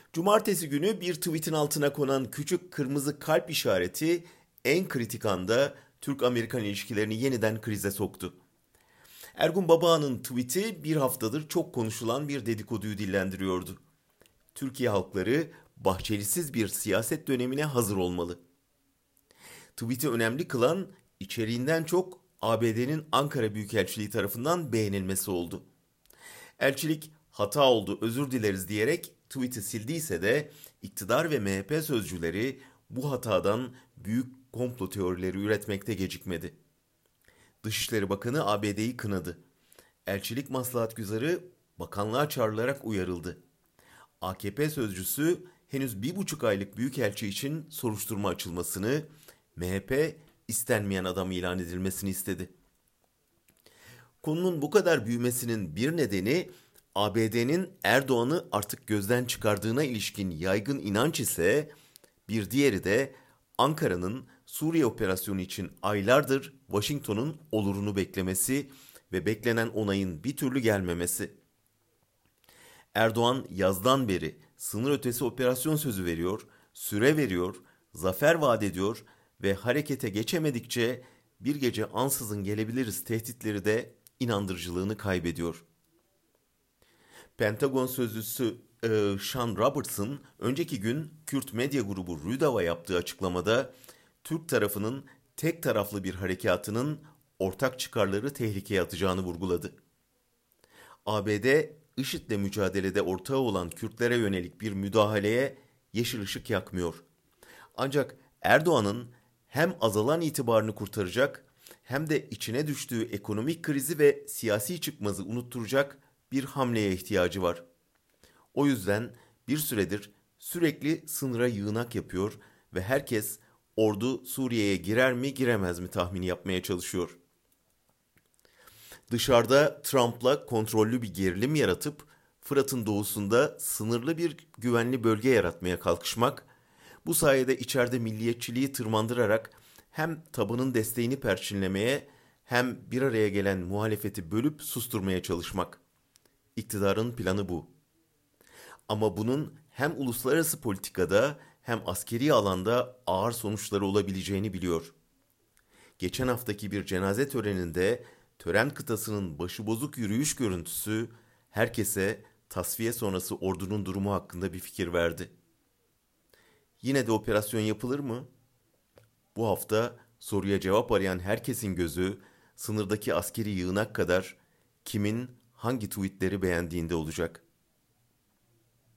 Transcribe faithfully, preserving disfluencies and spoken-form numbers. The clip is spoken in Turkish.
Cumartesi günü bir tweetin altına konan küçük kırmızı kalp işareti en kritik anda Türk-Amerikan ilişkilerini yeniden krize soktu. Ergun Baba'nın tweeti bir haftadır çok konuşulan bir dedikoduyu dillendiriyordu. Türkiye halkları Bahçelisiz bir siyaset dönemine hazır olmalı. Tweet'i önemli kılan içeriğinden çok A B D'nin Ankara Büyükelçiliği tarafından beğenilmesi oldu. Elçilik hata oldu özür dileriz diyerek tweet'i sildiyse de iktidar ve M H P sözcüleri bu hatadan büyük komplo teorileri üretmekte gecikmedi. Dışişleri Bakanı A B D'yi kınadı. Elçilik maslahatgüzarı bakanlığa çağrılarak uyarıldı. A K P sözcüsü henüz bir buçuk aylık büyükelçi için soruşturma açılmasını, M H P istenmeyen adam ilan edilmesini istedi. Konunun bu kadar büyümesinin bir nedeni A B D'nin Erdoğan'ı artık gözden çıkardığına ilişkin yaygın inanç ise bir diğeri de Ankara'nın Suriye operasyonu için aylardır Washington'un olurunu beklemesi ve beklenen onayın bir türlü gelmemesi. Erdoğan yazdan beri sınır ötesi operasyon sözü veriyor, süre veriyor, zafer vaat ediyor ve harekete geçemedikçe bir gece ansızın gelebiliriz tehditleri de inandırıcılığını kaybediyor. Pentagon sözcüsü e, Sean Robertson önceki gün Kürt medya grubu Rüdav'a yaptığı açıklamada Türk tarafının tek taraflı bir harekatının ortak çıkarları tehlikeye atacağını vurguladı. A B D, IŞİD'le mücadelede ortağı olan Kürtlere yönelik bir müdahaleye yeşil ışık yakmıyor. Ancak Erdoğan'ın hem azalan itibarını kurtaracak hem de içine düştüğü ekonomik krizi ve siyasi çıkmazı unutturacak bir hamleye ihtiyacı var. O yüzden bir süredir sürekli sınıra yığınak yapıyor ve herkes ordu Suriye'ye girer mi giremez mi tahmini yapmaya çalışıyor. Dışarıda Trump'la kontrollü bir gerilim yaratıp Fırat'ın doğusunda sınırlı bir güvenli bölge yaratmaya kalkışmak, bu sayede içeride milliyetçiliği tırmandırarak hem tabanın desteğini perçinlemeye hem bir araya gelen muhalefeti bölüp susturmaya çalışmak. İktidarın planı bu. Ama bunun hem uluslararası politikada hem askeri alanda ağır sonuçları olabileceğini biliyor. Geçen haftaki bir cenaze töreninde tören kıtasının başıbozuk yürüyüş görüntüsü herkese tasfiye sonrası ordunun durumu hakkında bir fikir verdi. Yine de operasyon yapılır mı? Bu hafta soruya cevap arayan herkesin gözü sınırdaki askeri yığınak kadar kimin hangi tweetleri beğendiğinde olacak.